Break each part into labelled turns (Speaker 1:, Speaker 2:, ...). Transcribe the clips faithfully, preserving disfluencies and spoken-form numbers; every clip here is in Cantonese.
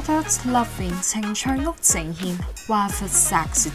Speaker 1: Adult Loving 情趣屋呈現華佛 Sexy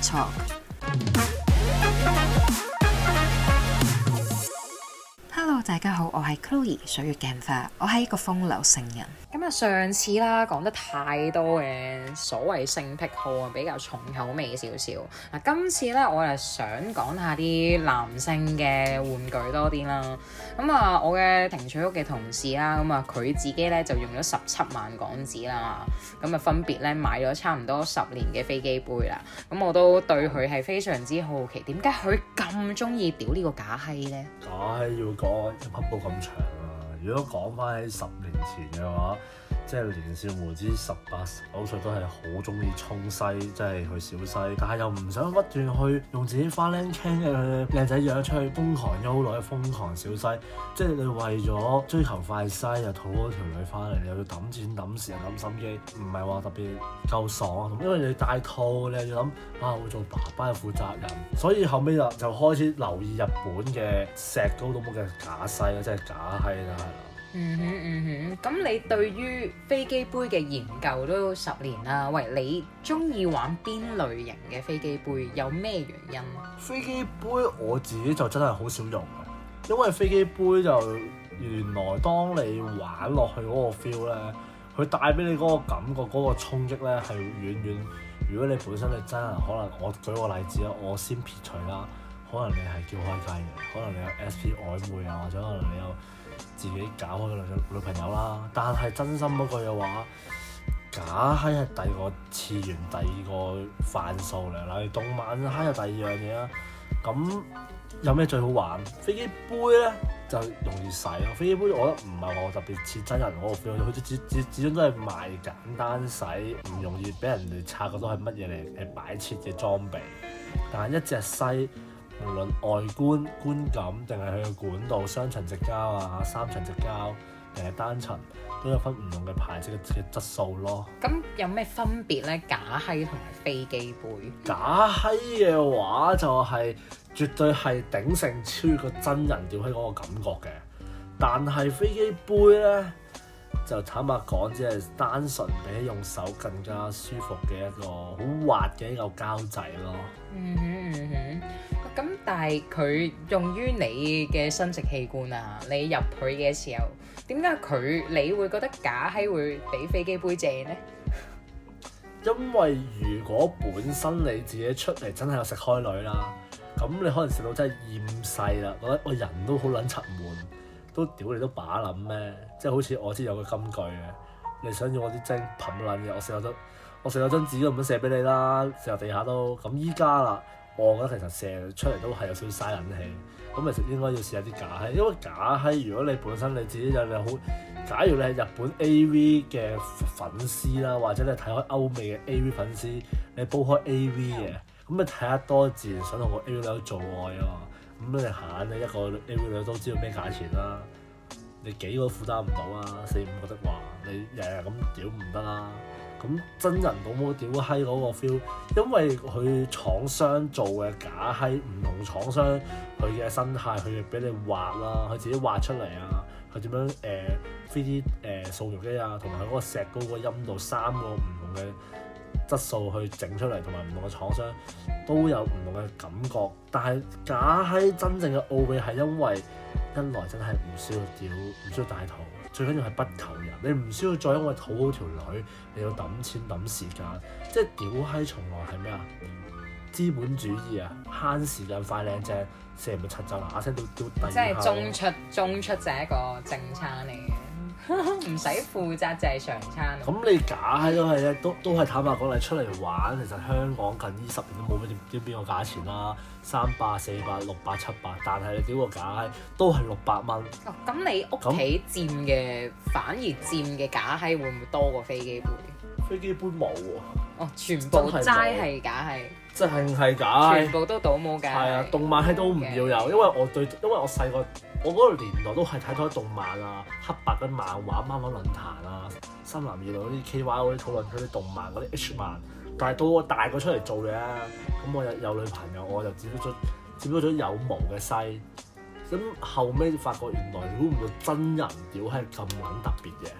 Speaker 1: Talk。Hello， 大家好，我係 Chloe 水月鏡花，我係一個風流聖人。咁啊，上次啦講得太多嘅所謂性癖好啊，比較重口味少少。嗱，今次咧我係想講下啲男性嘅玩具多啲啦。咁啊，我嘅情趣屋嘅同事啦，咁啊佢自己咧就用咗十七萬港紙啦。咁啊，分別咧買咗差唔多十年嘅飛機杯啦。咁我都對佢係非常之好奇，點解佢咁中意屌呢個假閪咧？
Speaker 2: 假閪要講一匹布咁長啊！如果講翻喺十年前嘅話，即係年少無知十八九歲都係好中意沖西，即係去小西，但係又唔想不斷去用自己花靚傾嘅靚仔樣出去瘋狂優女、瘋狂小西，即係你為咗追求快西又討嗰條女翻嚟，你又要揼錢揼時間揼心機，唔係話特別夠爽，因為你戴套你又要諗啊，會做爸爸嘅負責人，所以後尾就就開始留意日本嘅石膏都冇嘅假西啦，即係假閪啦，係啦。
Speaker 1: 嗯哼嗯哼，咁你對於飛機杯嘅研究都十年啦，喂，你中意玩邊類型嘅飛機杯？有咩原因？
Speaker 2: 飛機杯我自己就真係好少用嘅，因為飛機杯就原來當你玩落去嗰個 feel 咧，佢帶俾你嗰個感覺、嗰、嗰個衝擊咧係遠遠。如果你本身你真係可能，我舉個例子啦，我先撇除啦，可能你係叫開雞嘅，可能你有 S P 曖昧啊，或者可能你有自己搞開個女女朋友啦，但係真心嗰句嘅話，假閪係第二個次元，第二個範數嚟。例如動漫閪係第二樣嘢啦。咁有咩最好玩？飛機杯咧就容易洗咯。飛機杯我覺得唔係話特別似真人嗰個 feel，佢始始始終都係賣簡單洗，唔容易俾人哋察覺到係乜嘢嚟誒擺設嘅裝備。但係一隻西，無論外觀觀感定係佢嘅管道，雙層直膠啊、三層直膠定係單層，都有分唔同嘅牌子嘅嘅質素咯。
Speaker 1: 咁有咩分別咧？假閪同埋飛機杯？
Speaker 2: 假閪嘅話就係、是、絕對係鼎盛超越個真人屌閪嗰個感覺嘅，但係飛機杯咧就坦白講，只係單純比用手更加舒服嘅一個好滑嘅一嚿膠仔咯。
Speaker 1: 嗯哼嗯哼，咁但係佢用於你嘅生殖器官啊，你入佢嘅時候，點解佢你會覺得假閪會比飛機杯正呢？
Speaker 2: 因為如果本身你自己出嚟真係有食開女啦，咁你可能食到真係厭世啦，覺得我人都好撚沉悶，都屌你都把撚咩？即係好似我知有個金句嘅，你想要我啲精噴撚嘅，我食咗張我食咗張紙都唔想射俾你啦，射落地下都。咁依家啦，我覺得其實射出嚟都係有少少嘥撚氣，咁其實應該要試下啲假閪，因為假閪如果你本身你自己有你好，假如你係日本 A V 嘅粉絲啦，或者你睇開歐美嘅 A V 粉絲，你煲開 A V 嘅，咁你睇得多自然想同個 A V 女做愛啊嘛，咁你閒你一個 A V 女都知道咩價錢啦，你幾個都負擔唔到啊，四五個的話，你日日咁屌唔得啦。咁真人到冇屌閪嗰個 feel，因為佢廠商做嘅假閪唔同廠商佢嘅生態，佢俾你畫啦，佢自己畫出嚟啊，佢點樣誒 three D 誒掃描機啊，同埋佢嗰個石膏個陰道三個唔同嘅質素去整出嚟，同埋唔同嘅廠商都有唔同嘅感覺。但係假閪真正嘅奧秘係因為一來真係唔需要屌，唔需要戴套。最緊要係不求人，你唔需要再因為討好條女，你要揼錢揼時間，即係屌閪從來係咩啊？資本主義啊，慳時間快靚正，射唔柒就嗱聲都都第二下。即係
Speaker 1: 中出中出就係一個正餐嚟嘅，唔使負責就係常餐。
Speaker 2: 咁你假閪都係咧，都都係坦白講，你出嚟玩，其實香港近呢十年都冇乜點邊個價錢啦，三百、四百、六百、七百，但係你屌個假閪都係六百蚊。
Speaker 1: 哦，咁你屋企佔嘅反而佔嘅假閪會唔會多過飛機杯？
Speaker 2: 飛機杯冇喎。
Speaker 1: 哦，全部齋係假閪。
Speaker 2: 即係係假，
Speaker 1: 全部都倒冇㗎。
Speaker 2: 係啊，動漫係都唔要有，因為我對，因為我細個，我嗰個年代都係睇咗動漫啊、黑白嘅漫畫、漫畫論壇啊、深藍二類嗰啲 K Y 嗰啲討論嗰啲動漫嗰啲 H 漫，但係到我大個出嚟做嘢，咁我有有女朋友，我就接觸咗接觸咗有毛嘅西，咁後尾發覺原來估唔到真人屌係咁撚特別嘅。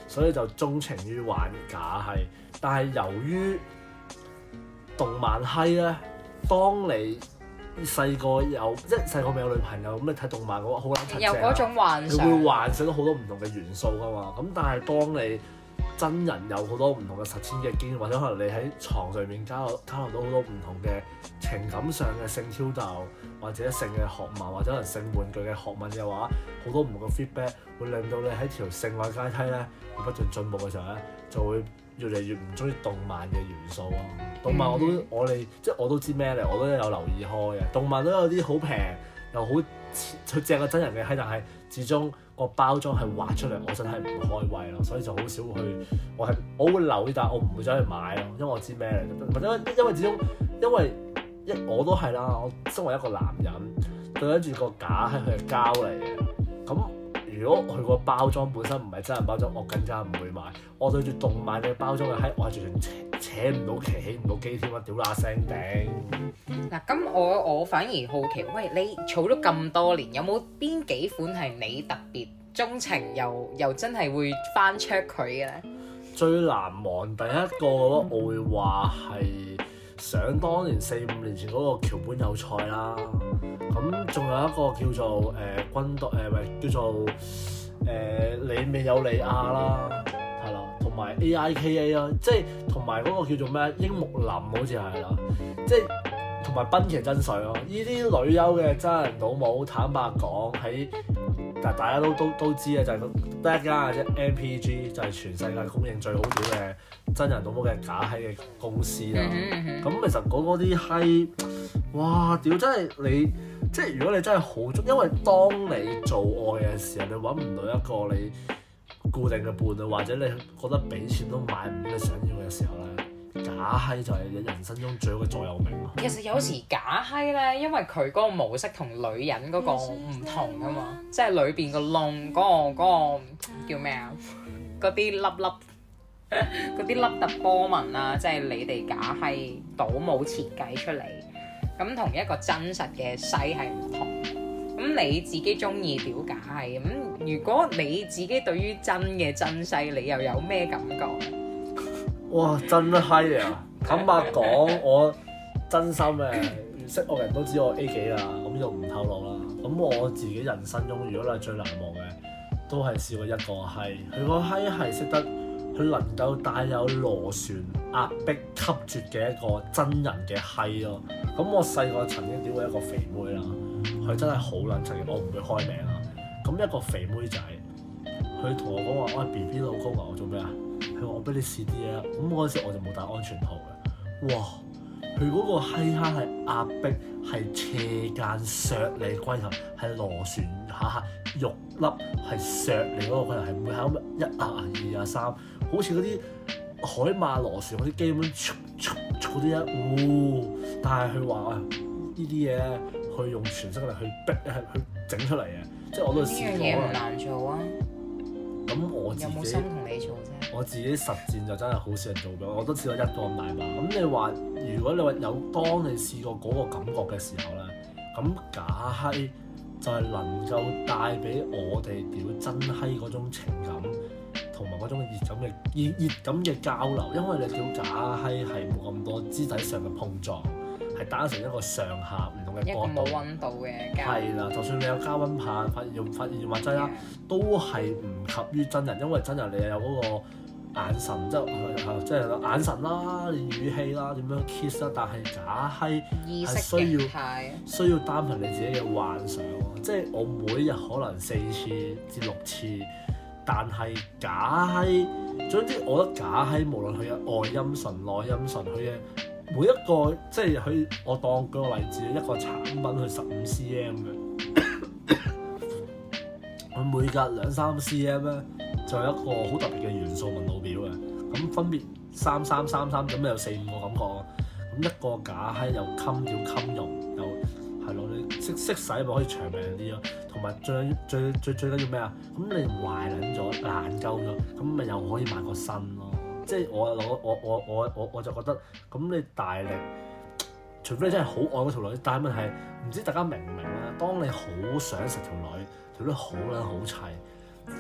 Speaker 2: 所以就鍾情於玩假閪。但係由於動漫閪咧，當你細個有即係細個未有女朋友咁，你睇動漫嘅話好撚親
Speaker 1: 有嗰種幻想，
Speaker 2: 你會幻想到好多唔同嘅元素噶嘛。咁但係當你真人有好多唔同嘅實踐嘅經驗，或者可能你喺床上面交流交流到好多唔同嘅情感上嘅性挑逗，或者性嘅學問，或者可能性玩具嘅學問嘅話，好多唔同嘅 feedback 會令到你喺條性愛階梯咧不斷進步嘅時候咧，就會越嚟越唔中意動漫嘅元素咯。動漫我都、嗯、我哋即係我都知咩嚟，我都有留意開嘅。動漫都有啲好平又好佢正嘅真人嘅閪，但係始終個包裝係畫出嚟，我真係唔開胃咯，所以就好少去。我係我會留意，但係我唔會走去買咯，因為我知咩嚟。或者因為始終因為一我都係啦，我身為一個男人對住個假係佢係膠嚟嘅，咁如果佢個包裝本身唔係真人包裝，我更加唔會買。我對住動漫嘅包裝嘅閪，我係完全扯扯唔到旗，起唔到機添啊！屌乸聲頂。
Speaker 1: 嗱，咁我我反而好奇，喂，你儲咗咁多年，有冇邊幾款係你特別鍾情又又真係會翻出佢嘅咧？
Speaker 2: 最難忘第一個我會話係想當年四五年前嗰個橋本有菜啦。咁仲有一個叫做誒、呃、軍隊誒，唔、呃、係叫做誒、呃、你未有利亞啦，係啦，同埋 A I K A 啦，即係同埋嗰個叫做咩櫻木林好似係啦，即係同埋濱崎真水咯。呢啲女優嘅真人倒模，坦白講喺但大家都都都知嘅就係得一間嘅啫 ，M P G 就係全世界公認最好屌嘅真人倒模嘅假閪嘅公司啦。咁、mm hmm. 其實嗰嗰啲閪，哇屌真係你。即係如果你真係好中，因為當你做愛嘅時候，你揾唔到一個你固定嘅伴侶，或者你覺得俾錢都買唔到你想要嘅時候咧，假閪就係你人生中最好嘅座右銘咯。
Speaker 1: 其實有時假閪咧，因為佢嗰個模式同女人嗰個唔同噶嘛，即係裏邊個窿嗰個嗰個叫咩啊？嗰啲粒粒嗰啲凹凸波紋啊，即係你哋假閪倒模設計出嚟。咁同一個真實嘅西係唔同，咁你自己中意屌假係咁，如果你自己對於真嘅真西，你又有咩感覺？
Speaker 2: 哇，真閪啊！坦白講，我真心嘅識我人都知我 A 幾啦，咁就唔透露啦。咁我自己人生中，如果你係最難忘嘅，都係試過一個閪，佢個閪係識得，佢能夠帶有螺旋壓迫吸絕嘅一個真人嘅閪咯。咁我細個曾經屌過一個肥妹啦，佢真係好撚柒嘅，我唔會開名啦。咁一個肥妹仔，佢同我講話：我係 B B 老公啊，我做咩啊？佢話我俾你試啲嘢啊。咁嗰陣時我就冇戴安全套嘅。哇！佢嗰個閪蝦係壓迫，係斜間削你龜頭，係螺旋下下肉粒係削你嗰個龜頭，係唔會係咁一啊二啊三，好似嗰啲海馬螺旋嗰啲機咁嗰啲一，哦！但係佢話啊，呢啲嘢咧，佢用全身力去逼，係去整出嚟嘅，即係我都試過。呢樣嘢唔難做啊！咁我自己有冇心同你做啫？我自己實戰就真係好少人做嘅，我都試過一個咁大把。咁你話，如果你話有當你試過嗰個感覺嘅時候咧，咁假閪就係能夠帶俾我哋屌真閪嗰種情感，同埋嗰種熱感嘅熱熱感嘅交流。因為你屌假閪係冇咁多肢體上嘅碰撞，係單純一個上下唔同嘅角度，一個冇溫度嘅交流。係啦，就算你有加溫棒、發熱發熱物劑啦，都係唔及於真人，因為真人你有嗰個眼神，即係即係眼神啦、語氣啦、點樣 kiss 啦，但係假閪係需要需要單憑你自己嘅幻想。即係我每日可能四次至六次，但係假閪，總之我覺得假閪無論佢嘅外陰唇、內陰唇，佢嘅每一個即係佢，我當舉個例子，一個產品佢十五 cm 嘅，佢每隔兩三 cm 咧，就有一個好特別嘅元素紋路表嘅，咁分別三三三三咁有四五個感覺啊，咁一個假閪又襟要襟用，又係咯，你識識使咪可以長命啲咯，同埋最最最最緊要咩啊？咁你壞撚咗爛鳩咗，咁咪又可以買個新咯。即係我我我我我我我就覺得咁你大力，除非你真係好愛嗰條女，但係問題唔知大家明唔明咧？當你好想食條女，條女好撚好砌，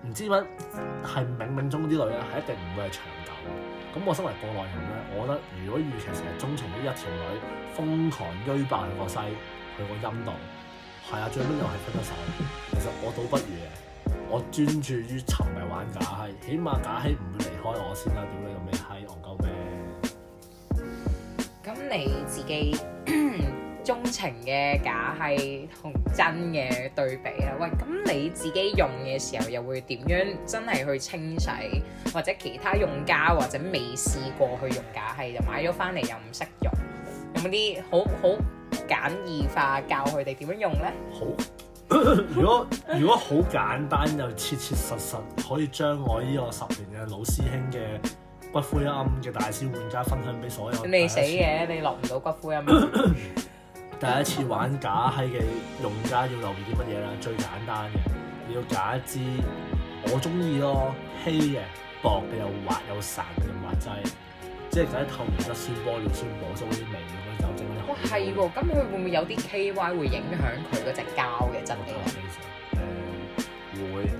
Speaker 2: 唔知點解係冥冥中啲女咧係一定唔會係長久。咁我身為過來人咧，我覺得如果與其成日鍾情於一條女，瘋狂追爆佢個西，佢個陰道，係啊，最尾又係分咗手。其實我倒不如嘅，我專注於沉迷玩假閪，起碼假閪唔會離開我先啦。屌你個咩閪，戇鳩咩？
Speaker 1: 咁你自己鍾情嘅假係同真嘅對比啦。喂，咁你自己用嘅時候又會點樣真係去清洗，或者其他用家或者未試過去用假係就買咗翻嚟又唔識用，有冇啲好好簡易化教佢哋點樣用呢？
Speaker 2: 好，如果如果好簡單又切切實實可以將我呢個十年嘅老師兄嘅骨灰龕嘅大師玩家分享俾所有。
Speaker 1: 你死嘅，你落唔到骨灰龕。
Speaker 2: 第一次玩假閪嘅用家要留意啲乜嘢咧？最簡單嘅，你要揀一支我中意咯，稀嘅、薄嘅又滑又散嘅滑劑，即係揀啲透明質酸玻尿酸補足啲味咁樣酒精嗰啲。
Speaker 1: 哇，係喎，咁佢會唔會有啲 K Y 會影響佢嗰隻膠嘅質地咧？
Speaker 2: 誒會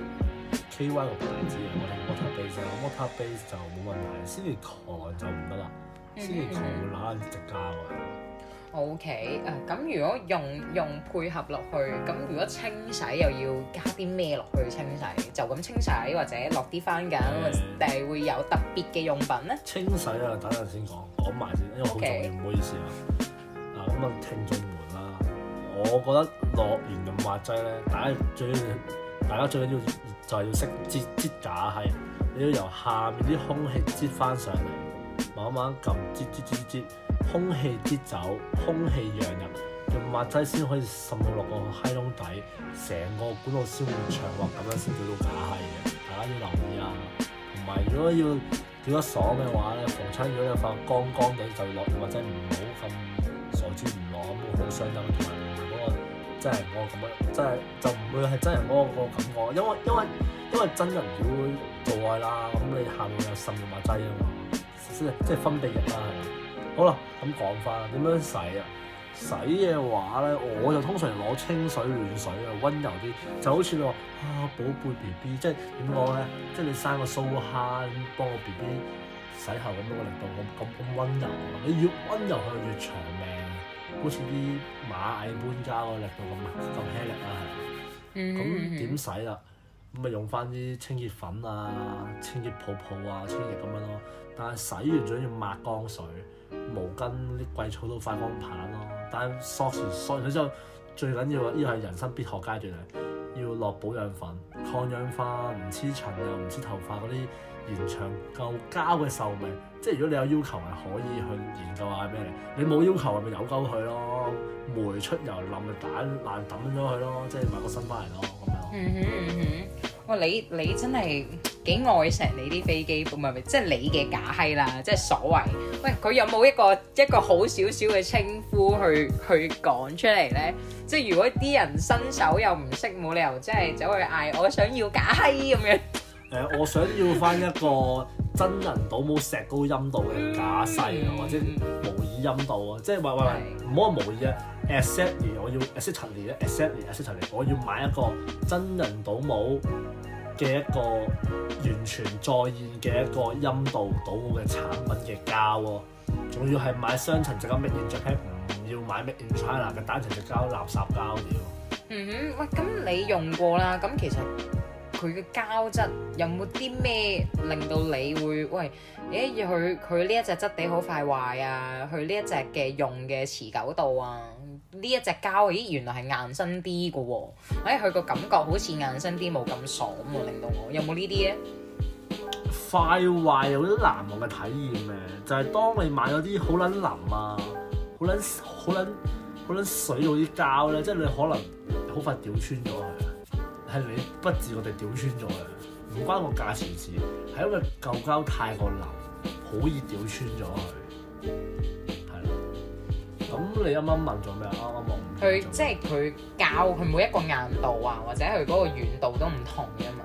Speaker 2: K Y 個牌子嘅，我睇 water base 啦，water base 就冇問題，silicone就唔得啦，silicone會揦隻膠嘅。
Speaker 1: O K，誒咁如果用用配合落去，咁如果清洗又要加啲咩落去清洗？就咁清洗或者落啲番梘，定係會有特別嘅用品咧？
Speaker 2: 清洗啊，等陣先講，講埋先，因為好重要，唔 Okay. 好意思啊。嗱咁啊，聽眾們啦，我覺得落完潤滑劑咧，大家最緊要，大家最緊要就係要識擠擠假閪，你要由下面啲空氣擠翻上嚟，慢慢撳擠擠擠擠。空氣擠走，空氣讓入，潤滑劑先可以滲到落個閪窿底，成個管道先會暢滑，咁樣先叫到假閪嘅。大家要留意啊！同埋如果要屌得爽嘅話咧，逢親如果有塊乾乾地就落潤滑劑，唔好咁傻豬唔落咁會好傷心，同埋唔係嗰個真人嗰個咁樣，真係就唔會係真人嗰個嗰個感覺，因為因為因為真人如果做愛啦，咁你下面有滲潤滑劑啊嘛，即係即係分泌液啦，係嘛？好啦，咁講翻點樣洗啊？洗嘅話咧，我就通常攞清水暖水啊，温柔啲，就好似你話啊寶貝 B B， 即係點講咧？即係你生個蘇蝦幫個 B B 洗後咁樣個力度咁咁咁温柔啊！你越温柔佢越長命，好似啲螞蟻搬家個力度咁咁輕力啦，係嘛？咁點洗啦？咁咪用翻啲清潔粉啊、清潔泡泡啊、清潔液咁樣咯。但係洗完咗要抹乾水。毛巾啲貴草都快乾棒咯，但係索時索完之後最緊要呢個係人生必學階段啊，要落保養粉、抗氧化，唔黐塵又唔黐頭髮嗰啲，延長夠膠嘅壽命。即係如果你有要求係可以去研究下咩嚟，你冇要求咪由鳩佢咯，霉出油淋咪打爛抌咗佢咯，即係買個新翻嚟咯咁樣。嗯哼嗯
Speaker 1: 哼，哇！你你真係幾愛錫你啲飛機，唔係唔係，即係你嘅假閪啦，即係所謂。喂，佢有冇一個一個好少少嘅稱呼去去講出嚟咧？即係如果啲人新手又唔識，冇理由即係走去嗌我想要假閪咁樣。誒、
Speaker 2: 呃，我想要翻一個真人倒冇石膏陰道嘅假細啊，嗯、或者模擬陰道啊，即係喂喂喂，唔好話模擬啊 ，exactly 我要 exactly 咧 exactly exactly 我要買一個真人倒冇嘅一個完全再現嘅一個陰道倒冇嘅產品嘅膠喎，仲要係買雙層直膠 Made in Japan，唔要買 Made in China 嘅單層直膠垃圾膠料。
Speaker 1: 嗯哼，喂，咁你用過啦，咁其實佢嘅膠質有冇啲咩令到你會喂？誒，佢佢呢一隻質地好快壞啊，佢呢一隻嘅用嘅持久度啊，呢一隻膠咦原來係硬身啲嘅喎，誒佢個感覺好似硬身啲冇咁爽喎，令到我有冇呢啲咧？
Speaker 2: 快壞有啲難忘嘅體驗嘅，就係、是、當你買咗啲好撚腍啊，好撚好撚好撚水嗰啲膠咧，即係你可能好快掉穿咗佢，係你不自覺地掉穿咗嘅，唔關個價錢事，係因為舊膠太過腍，好易掉穿咗佢。係啦，咁你啱啱問咗咩啊？啱啱問佢
Speaker 1: 即係佢膠，佢每一個硬度啊，或者佢嗰個軟度都唔同嘅嘛。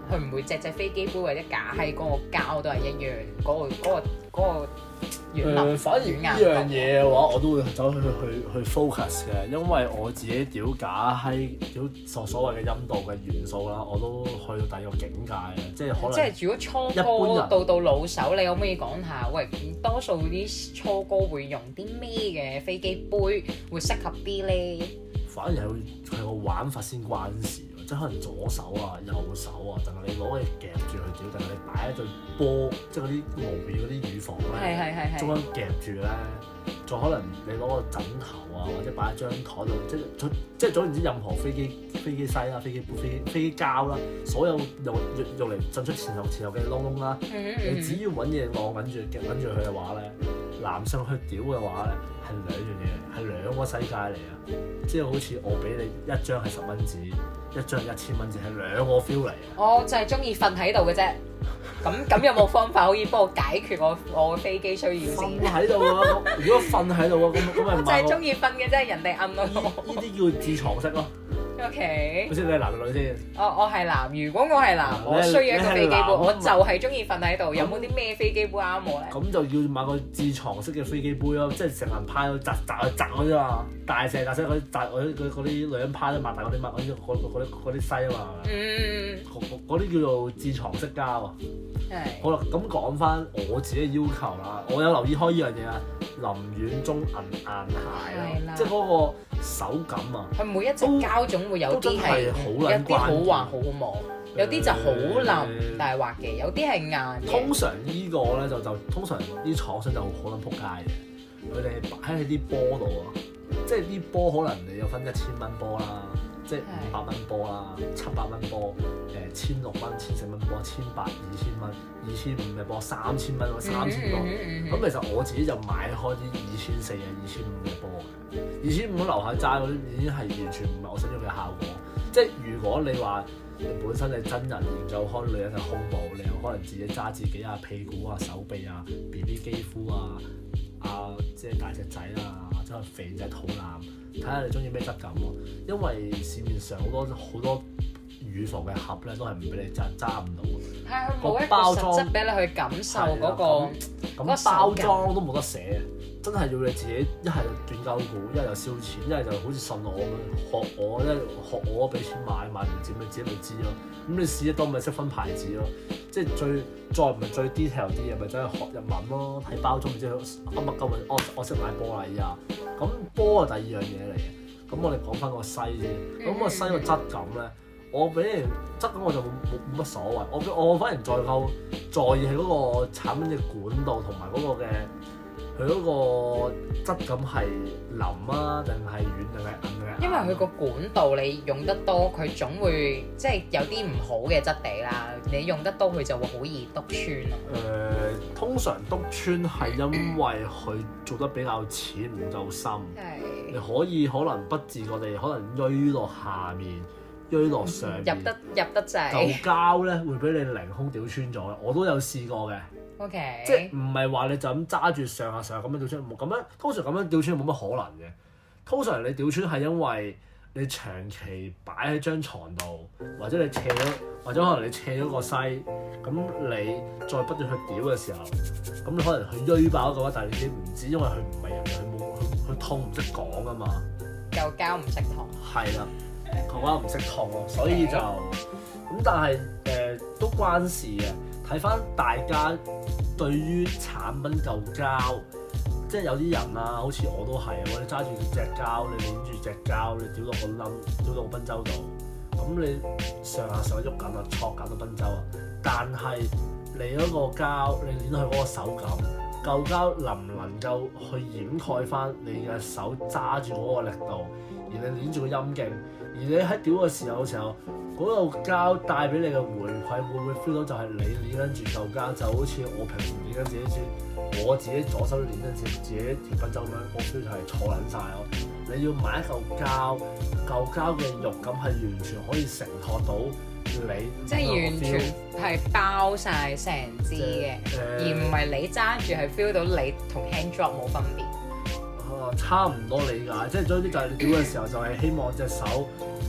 Speaker 1: 佢唔會隻隻飛機杯或者假閪嗰個膠都係一樣，嗰、嗰個嗰、嗰個嗰、個軟
Speaker 2: 誒、
Speaker 1: 腍
Speaker 2: 呃，反而呢樣嘢嘅話，我都會走去去去 focus 嘅，因為我自己屌假閪屌所所謂嘅陰道嘅元素啦，我都去到第二個境界嘅，即係可能。
Speaker 1: 即係如果初
Speaker 2: 一般
Speaker 1: 哥
Speaker 2: 人
Speaker 1: 到到老手，你可唔可以講下？喂，多數啲初哥會用啲咩嘅飛機杯會適合啲咧？
Speaker 2: 反而係會係個玩法先關事喎，即係可能左手啊、右手啊，定係你攞嚟夾住佢屌，定係你擺一對波，即係嗰啲無邊嗰啲乳房
Speaker 1: 係係係
Speaker 2: 咧，
Speaker 1: 係
Speaker 2: 中間夾住咧，再可能你攞個枕頭啊，或者擺喺張台度，即係總即係總言之，任何飛機飛機西啦、飛機杯、飛機飛機膠啦，所有用用用嚟進出前後前後嘅窿窿啦，
Speaker 1: 嗯嗯
Speaker 2: 你只要揾嘢攞緊住夾緊住佢嘅話咧，男性去屌嘅話咧，係兩樣嘢，係兩個世界嚟啊！即係好似我俾你一張係十蚊紙，一張係一千蚊紙，係兩個 feel 嚟啊！
Speaker 1: 我就係中意瞓喺度嘅啫。咁咁有冇方法可以幫我解決我我嘅飛機需要先？
Speaker 2: 瞓喺度啊！如果瞓喺度啊，咁咁咪
Speaker 1: 我就係中意瞓嘅啫，人哋摁我。
Speaker 2: 呢啲叫自床式咯。
Speaker 1: O K。
Speaker 2: 好似你係男定女先？
Speaker 1: 我我係男，如果我係男，我需要一個飛機杯，我就係中意瞓喺度。有冇啲咩飛機杯啱我咧？
Speaker 2: 咁就要買個自床式嘅飛機杯咯，即係成人派到擲擲去擲嗰啲嘛，大隻大隻嗰啲擲嗰啲嗰啲女人派都擘大嗰啲乜嗰啲嗰嗰啲嗰啲西啊嘛。
Speaker 1: 嗯。
Speaker 2: 嗰啲叫做自床式膠啊。
Speaker 1: 係。
Speaker 2: 好啦，咁講翻我自己嘅要求啦，我有留意開呢樣嘢啊，林軟中銀硬鞋啦，即係嗰個手感啊。
Speaker 1: 佢每一隻膠種會有啲係有啲好滑好好摸，有啲就好腍但係滑嘅，有啲係硬嘅。
Speaker 2: 通常呢個咧就就通常啲廠商就好撚撲街嘅，佢哋擺喺啲波度啊，即係啲波可能你有分一千蚊波啦，即係五百蚊波啦，七百蚊波，誒千六蚊、千四蚊波，千八、二千蚊、二千五嘅波，三千蚊或三千多。咁其實我自己就買開啲二千四嘅、二千五嘅波嘅，二千五樓下齋嗰啲已經係完全唔係我想要嘅效果。即係如果你話你本身你真人研究開女人嘅胸部，你又可能自己揸自己啊屁股啊手臂啊 B B 肌膚啊啊即係大隻仔啊，或者係肥仔肚腩，睇下你中意咩質感喎。因為市面上好多好多乳房嘅盒咧，都係唔俾你揸揸唔到嘅。
Speaker 1: 係佢冇一個實質俾你去感受嗰個
Speaker 2: 咁包裝都冇得寫。真係要你自己一係斷鳩股，一係就燒錢，一係就好似信我咁樣學我，一係學我俾錢買，買唔掂你自己咪知咯。咁你試得多咪識分牌子咯。即係最再唔係最 detail 啲嘢，咪走去學日文咯，睇包裝咪知佢噏乜鳩咪。我我識買波啦依家。咁波係第二樣嘢嚟嘅。咁我哋講翻個西先。咁個西個質感咧，我俾人質感我就冇冇冇乜所謂。我我反而再夠在意係嗰個產品嘅管道同埋嗰個嘅。佢嗰個質感係腍啊，定係軟定係硬嘅？
Speaker 1: 因為佢個管道你用得多，佢總會即係有啲唔好嘅質地啦。你用得多，佢就會好易篤穿咯。
Speaker 2: 誒、呃，通常篤穿係因為佢做得比較淺唔夠深。係。你可以可能不自覺地可能鋥落下面，鋥落上面。入得
Speaker 1: 入得滯。
Speaker 2: 嚿膠咧會俾你凌空屌穿咗，我都有試過嘅。
Speaker 1: Okay.
Speaker 2: 即係唔係話你就咁揸住上下上下咁樣吊穿，冇咁樣。通常咁樣吊穿冇乜可能嘅。通常你吊穿係因為你長期擺喺張床度，或者你斜咗，或者可能你斜咗個西，咁你再不斷去屌嘅時候，咁你可能佢鋥爆嘅話，但係你自己唔知，因為佢唔係人，佢冇佢佢痛唔識講啊嘛。
Speaker 1: 嚿膠唔識痛。係
Speaker 2: 啦，嚿膠唔識痛咯，所以就咁，但係誒、呃、都關事嘅。睇翻大家對於產品嚿膠，即係有啲人啊，好似我都係啊，我哋揸住隻膠，你攆住隻膠，你屌到個冧，屌到個賓州度，咁你上下上喐緊啊，戳緊個賓州啊，但係你嗰個膠，你攆佢嗰個手感，嚿膠能唔能夠去掩蓋翻你嘅手揸住嗰個力度，而你攆住個陰莖，而你喺屌嘅時候嘅時候。嗰個膠帶俾你嘅回饋，會唔會 feel 到就係你捏緊住嚿膠，就好似我平時捏緊自己住，我自己左手捏緊自自己條賓州咁樣，我 feel 就係坐撚晒咯。你要買一嚿膠，嚿膠嘅肉感係完全可以承托到你，
Speaker 1: 即係完全係包晒成支嘅，呃、而唔係你揸住係 feel 到你同 hand drop 冇分別。
Speaker 2: 啊，差唔多理解，即係總之就係你屌嘅時候就係希望隻手。唔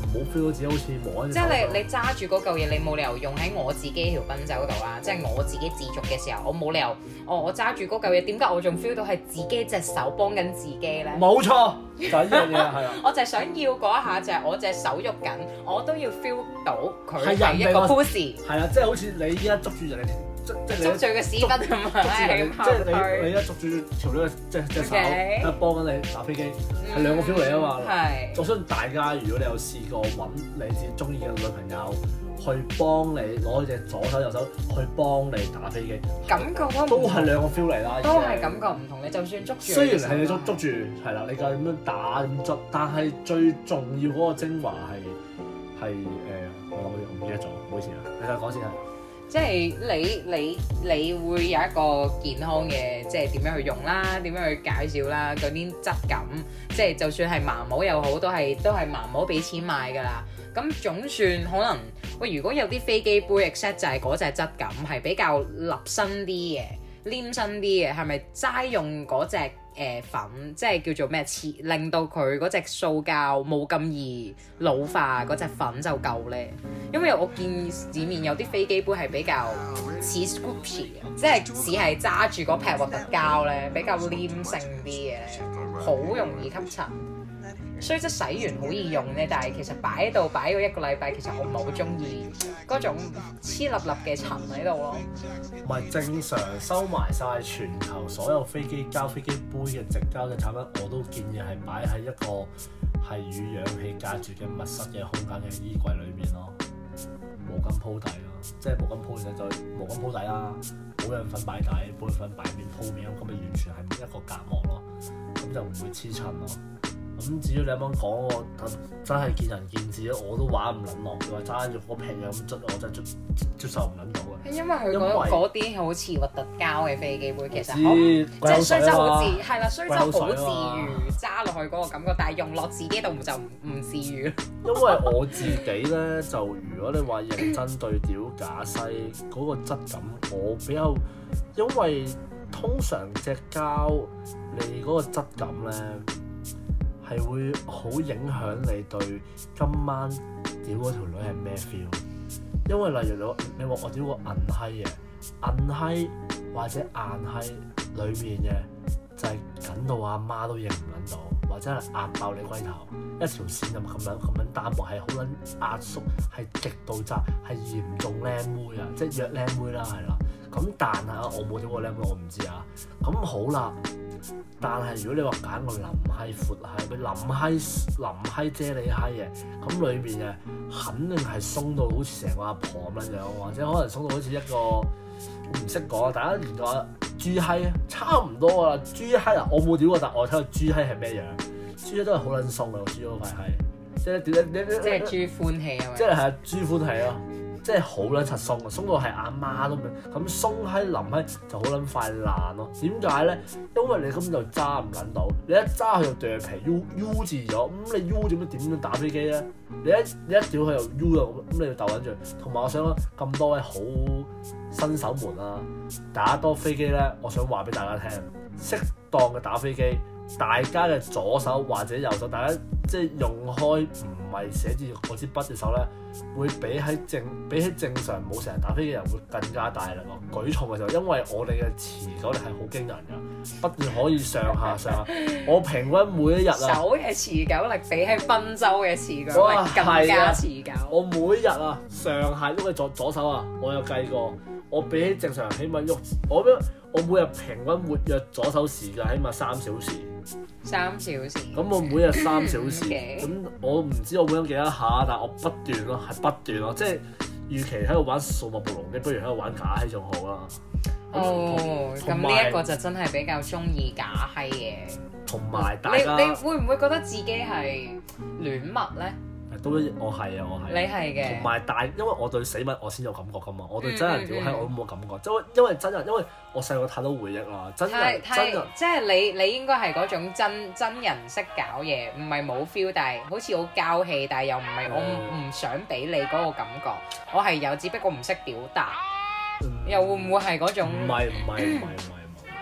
Speaker 2: 冇 feel 到自己好似摸緊。
Speaker 1: 即係你你揸住嗰嚿嘢，你冇理由用喺我自己條賓周度啦。即係我自己自足嘅時候，我冇理由，哦我揸住嗰嚿嘢，點解我仲 feel 到係自己隻手幫緊自己咧？
Speaker 2: 冇錯，就係呢樣嘢係啊！
Speaker 1: 我就係想要嗰一下，就係我隻手喐緊，我都要 feel 到佢
Speaker 2: 係
Speaker 1: 係一個 push。
Speaker 2: 係啊，即係好似你依家捉住人哋，即即係
Speaker 1: 捉住個屎忽咁啊！
Speaker 2: 即係你你一捉住條女嘅即隻手，一幫緊你打飛機，係兩個 feel 嚟啊嘛。
Speaker 1: 係。
Speaker 2: 我相信大家如果你有試過揾你自己中意嘅女朋友去幫你攞隻左手右手去幫你打飛機，
Speaker 1: 感覺
Speaker 2: 都係兩個 feel 嚟啦。
Speaker 1: 都係感覺唔同。你就算捉住，
Speaker 2: 雖然係你捉捉住係啦，你夠咁樣打咁捉，但係最重要嗰個精華係係誒，我我唔記得咗，唔好意思啊，你再講先啊。
Speaker 1: 即係你你你會有一個健康嘅，即係點樣去用啦，點樣去介紹啦，嗰啲質感，即係就算係盲模又好，都係都係盲模俾錢買㗎啦。咁總算可能喂，如果有啲飛機杯 except 就係嗰隻質感係比較立身啲嘅、黏身啲嘅，係咪齋用嗰隻誒粉，即係叫做咩？切令到佢嗰隻塑膠冇咁易老化，嗰隻粉就夠咧。因為我見市面有啲飛機杯係比較似 Scoopy 嘅，即係似係揸住嗰劈核突膠咧，比較黏性啲嘅，好容易吸塵。雖則洗完好易用咧，但係其實擺喺度擺咗一個禮拜，其實我唔係好中意嗰種黐粒粒嘅塵喺度咯。
Speaker 2: 唔係正常收埋晒全球所有飛機膠、飛機杯嘅直膠嘅產品，我都建議係擺喺一個係與氧氣隔住嘅密室嘅空間嘅衣櫃裏面咯。毛巾鋪底咯，即係毛巾鋪完就毛巾鋪底啦，保養粉擺底，保養粉擺面鋪面咁，咁咪完全係一個隔膜咯，咁就唔會黐塵咯。咁至於你啱啱講我真係見仁見智咯，我都玩唔撚落，佢話揸住嗰劈嘢咁捽，我真係接接受唔撚到嘅。
Speaker 1: 因為佢嗰嗰啲好似核突膠嘅飛機杯，其實
Speaker 2: 好
Speaker 1: 即係雖則好自係啦，雖則好自
Speaker 2: 啊
Speaker 1: 如揸落去嗰個感覺，但係用落自己度就唔唔自如。
Speaker 2: 因為我自己咧，就如果你話認真對屌假西嗰個質感，我比較因為通常隻膠你嗰個質感咧，係會好影響你對今晚屌嗰條女係咩 feel？ 因為例如你你話我屌個銀閪嘅銀閪或者硬閪裏面嘅就係緊到阿媽都認唔撚到，或者係壓爆你龜頭，一條線咁咁樣咁樣單薄，係好撚壓縮，係極度窄，係嚴重靚妹啊，即係約靚妹啦，係啦。咁但係啊，我冇屌過靚妹，我唔知啊。咁好啦。但係如果你話揀個腍閪闊閪，佢腍閪腍閪啫喱閪嘅，咁裏面嘅肯定係鬆到好似成個阿婆咁樣樣，或者可能鬆到好似一個唔識講啊！大家研究下豬閪啊，差唔多啊！豬閪啊，我冇屌過，但我睇過豬閪係咩樣？豬閪都係好撚鬆嘅，豬嗰塊閪，即係點咧？
Speaker 1: 即係豬歡喜啊！
Speaker 2: 即係係啊，豬歡喜咯。即係好撚柒鬆啊，鬆到係阿媽都唔咁鬆閪腍閪就好撚快爛咯。點解咧？因為你根本就揸唔撚到，你一揸佢就掉皮 U U 字咗，咁、嗯、你 U 點樣點樣打飛機咧？你一你一屌佢又 U 咗，咁你要鬥緊住。同埋我想講咁多位好新手們啊，打多飛機咧，我想話俾大家聽，適當嘅打飛機，大家嘅左手或者右手，大家即係用開唔係寫住嗰支筆嘅手咧，會比喺正比起正常冇成日打飛機嘅人會更加大力咯。舉重嘅時候，因為我哋嘅持久力係好驚人㗎，不斷可以上下上下。我平均每一日啊，
Speaker 1: 手嘅持久力比起賓州嘅持久力更加持久。
Speaker 2: 我每日啊上下喐嘅左左手啊，我有計過，我比起正常人起碼喐我我每日平均活躍左手時間起碼三小時。
Speaker 1: 三小時。
Speaker 2: 咁我每日三小時，咁
Speaker 1: Okay.
Speaker 2: 我唔知我每日幾多下，但係我不斷咯，係不斷咯，即係與其喺度玩數碼暴龍機，不如喺度玩假閪仲好啦。
Speaker 1: 哦，咁呢一個就真係比較中意假閪嘅。
Speaker 2: 同埋大家，
Speaker 1: 你你會唔會覺得自己係戀物咧？
Speaker 2: 都我係啊，我係。
Speaker 1: 你係嘅。同
Speaker 2: 埋大，因為我對死物我先有感覺噶嘛，我對真人屌閪我都冇感覺，因為因為真人，因為我細個太多回憶啦，真人真人，
Speaker 1: 即係你你應該係嗰種真真人識搞嘢，唔係冇 feel，但係好似好交氣，但係又唔係我唔想俾你嗰個感覺，我係有，只不過唔識表達，又會唔會係嗰種？
Speaker 2: 唔係唔係唔係唔係唔係，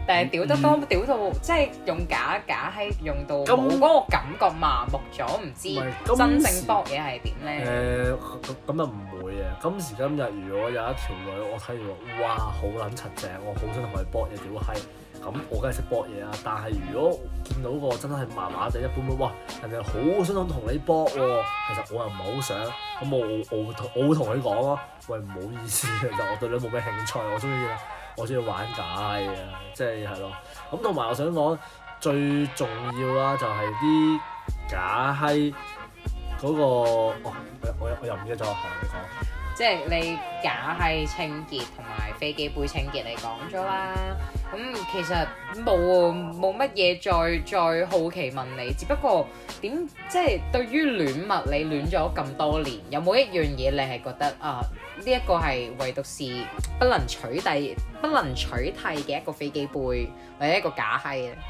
Speaker 1: 但係屌得多屌到即係用假假閪用到冇嗰個感覺麻木咗，唔知真正搏嘢係點咧？
Speaker 2: 誒咁又唔會嘅。今時今日如果有一條女我睇住哇好撚柒正，我好想同佢搏嘢屌閪，咁我梗係識搏嘢啦。但係如果見到個真係麻麻地一般般，哇人哋好想同你搏喎，其實我又唔係好想，咁我我會同我會同佢講咯，喂唔好意思，其實我對你冇咩興趣，我中意我中意玩假閪啊，即係係咯。咁同埋我想講最重要啦，就係啲假閪嗰個，哦我我又唔記得咗，係你講。
Speaker 1: 即係你假閪清潔同埋飛機杯清潔你講咗啦，咁、嗯、其實冇冇乜嘢再再好奇問你，只不過點即係對於戀物你戀咗咁多年，有冇一樣嘢你係覺得啊呢一、這個係唯獨是不能取締不能取替嘅一個飛機杯或者一個假閪咧？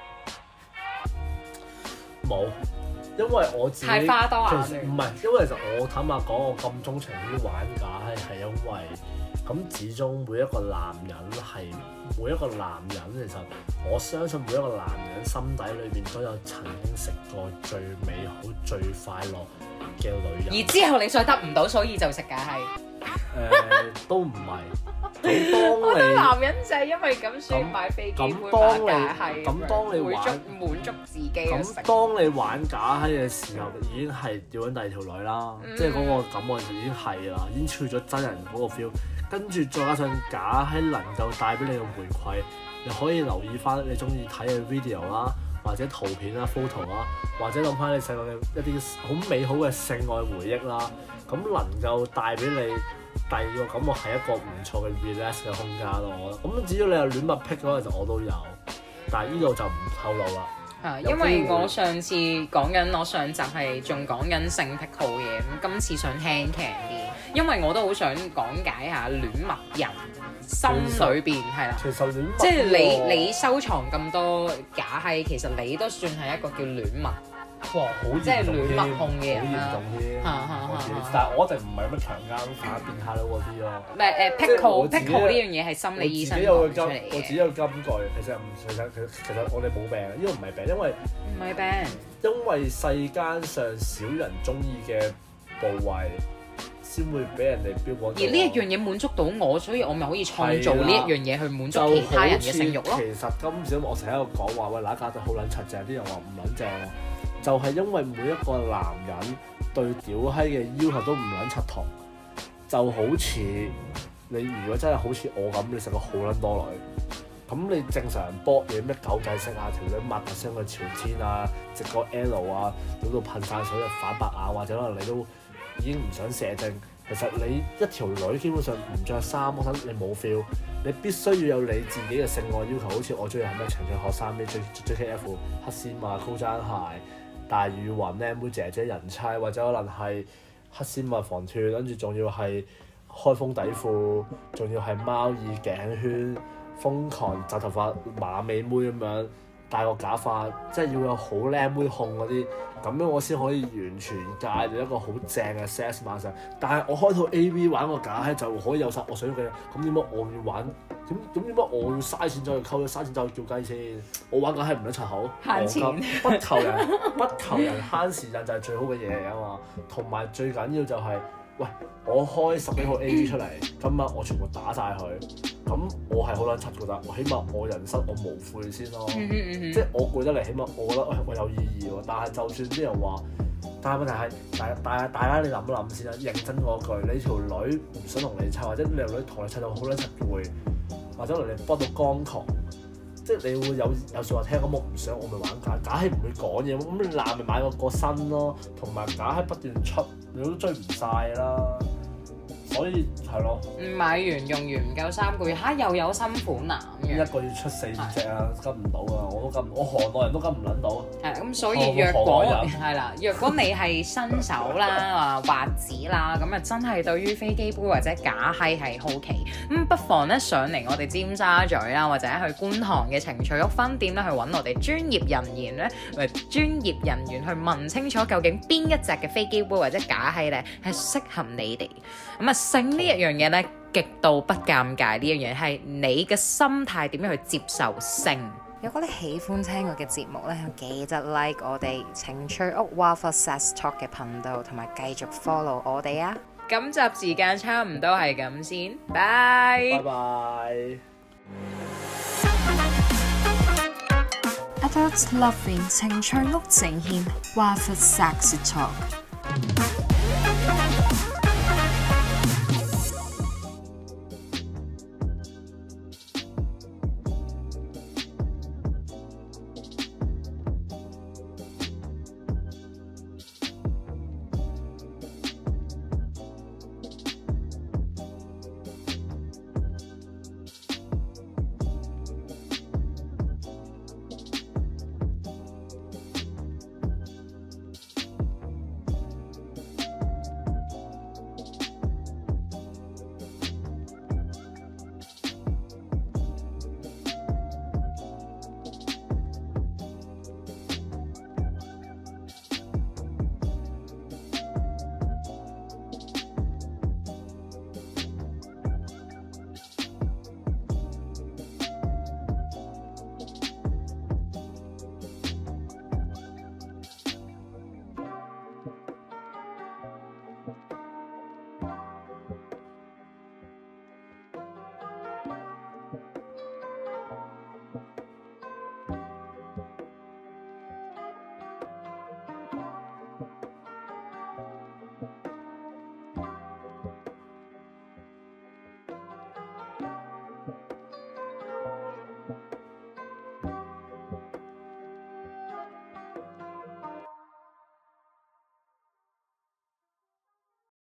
Speaker 2: 冇。因為我自己
Speaker 1: 太花多眼亂，
Speaker 2: 唔係，因為其實我坦白講，我咁鍾情於玩假係係因為咁，始終每一個男人係每一個男人，其實我相信每一個男人心底裏邊都有曾經食過最美好、最快樂嘅女人。
Speaker 1: 而之後你再得唔到，所以就食假係。
Speaker 2: 誒、呃，都唔係。咁當
Speaker 1: 我覺得
Speaker 2: 你
Speaker 1: 男人就係因為咁所以買飛機杯買假閪，
Speaker 2: 咁當你玩
Speaker 1: 滿足自己嘅食。
Speaker 2: 咁當你玩假閪嘅時候，已經係釣緊第二條女啦，嗯、即係嗰個感覺已經係啦，已經超咗真人嗰個 feel。跟住再加上假閪能夠帶俾你嘅回饋，又可以留意翻你中意睇嘅 video 啦，或者圖片啦、photo 啦，或者諗翻你細個嘅一啲好美好嘅性愛回憶啦，咁能夠帶俾你。第二個感覺係一個唔錯嘅 relax 嘅空間咯，我覺得。咁只要你有戀物癖嗰個就我都有，但係呢度就唔透露啦。
Speaker 1: 啊，因為我上次講緊，我上集係仲講緊性癖好嘢，咁今次想輕鬆啲，因為我都好想講解下戀物人心裏邊係啦。
Speaker 2: 其實戀物
Speaker 1: 即係你你收藏咁多假閪，其實你都算係一個叫戀物。
Speaker 2: 哇！好
Speaker 1: 即係戀物控嘅人
Speaker 2: 啦，好嚴重添。
Speaker 1: 啊、
Speaker 2: 但係我一定唔係乜強姦犯、變態佬嗰啲咯。
Speaker 1: 唔係誒癖好癖好呢樣嘢係心理醫生講出嚟嘅。
Speaker 2: 我自己有金句，其實唔其實其實我哋冇病，呢個唔係病，因為
Speaker 1: 唔係病，
Speaker 2: 因為世間上少人中意嘅部位，先會俾人哋標榜。而
Speaker 1: 呢一樣嘢滿足到我，所以我咪可以創造呢一樣嘢去滿足其他人嘅性慾咯。
Speaker 2: 其實今時我成日喺度講話，喂，嗱家都好撚柒正，啲人話唔撚正喎。就係因為每一個男人對屌閪嘅要求都唔撚柒同，就好似你如果真係好似我咁，你食過好撚多女，咁你正常人搏嘢咩狗仔式啊，條女抹下聲去朝天啊，直個 L 啊，屌到噴晒水啊，反白眼，或者可能你都已經唔想射精。其實你一條女基本上唔着衫，我諗你冇 feel，你必須要有你自己嘅性愛要求，好似我中意係咩長長學生咩 J K F 黑絲襪高踭鞋。大雨雲靚妹姐姐人妻，或者可能係黑絲襪防脫，跟住仲要係開封底褲，仲要係貓耳頸圈，瘋狂紮頭髮馬尾妹咁樣，戴個假髮，即係要有好靚妹控嗰啲，咁樣我先可以完全戒到一個好正嘅 sex 晚上。但係我開套 A V 玩個假閪就可以有晒我想要嘅，咁點解我要玩？咁咁點解我要嘥錢走去溝，嘥錢走去叫雞先？我玩梗係唔得柒口，
Speaker 1: 慳錢，
Speaker 2: 不求人不求人慳時間就係最好嘅嘢嚟啊嘛！同埋最緊要就係、是，喂，我開十幾號 A V 出嚟，今晚我全部打晒佢，咁我係好撚柒覺得，我起碼我人生我無悔先咯，即係我攰得嚟，起碼我覺得我有意義喎。但係就算啲人話，但係問題係大大大家你諗一諗先啦，認真嗰句，你條女唔想同你砌，或者你條女同你砌到好撚柒攰。或者嚟你幫到光狂，即係你會有有説話聽，咁我唔想我咪玩假，假係唔會講嘢，咁你爛咪買個個新咯，同埋假係不斷出，你都追唔晒啦，所以係咯。買
Speaker 1: 完用完唔夠三個月，嚇又有新款啊！
Speaker 2: 一個月出四隻啊，跟唔到啊！我都跟，我行內人都跟唔撚到。
Speaker 1: 係咁，所以若果係啦，若果你係新手啦，啊滑子啦，咁啊真係對於飛機杯或者假閪係好奇，咁不妨咧上嚟我哋尖沙咀啦，或者去觀塘嘅情趣屋分店咧，去揾我哋專業人員咧，或專業人員去問清楚究竟邊一隻嘅飛機杯或者假閪咧係適合你哋。咁啊性呢一樣嘢咧。 極度不尷尬呢樣嘢，係你嘅心態點樣去接受性。如果你喜歡聽我嘅節目咧，記得 like 我哋情趣屋 Wild for Sex Talk 嘅頻道，同埋繼續 follow 我哋啊！今集時間差唔多係咁先，拜
Speaker 2: 拜拜。
Speaker 1: Adult Loving 情趣屋呈現 Wild for Sex Talk。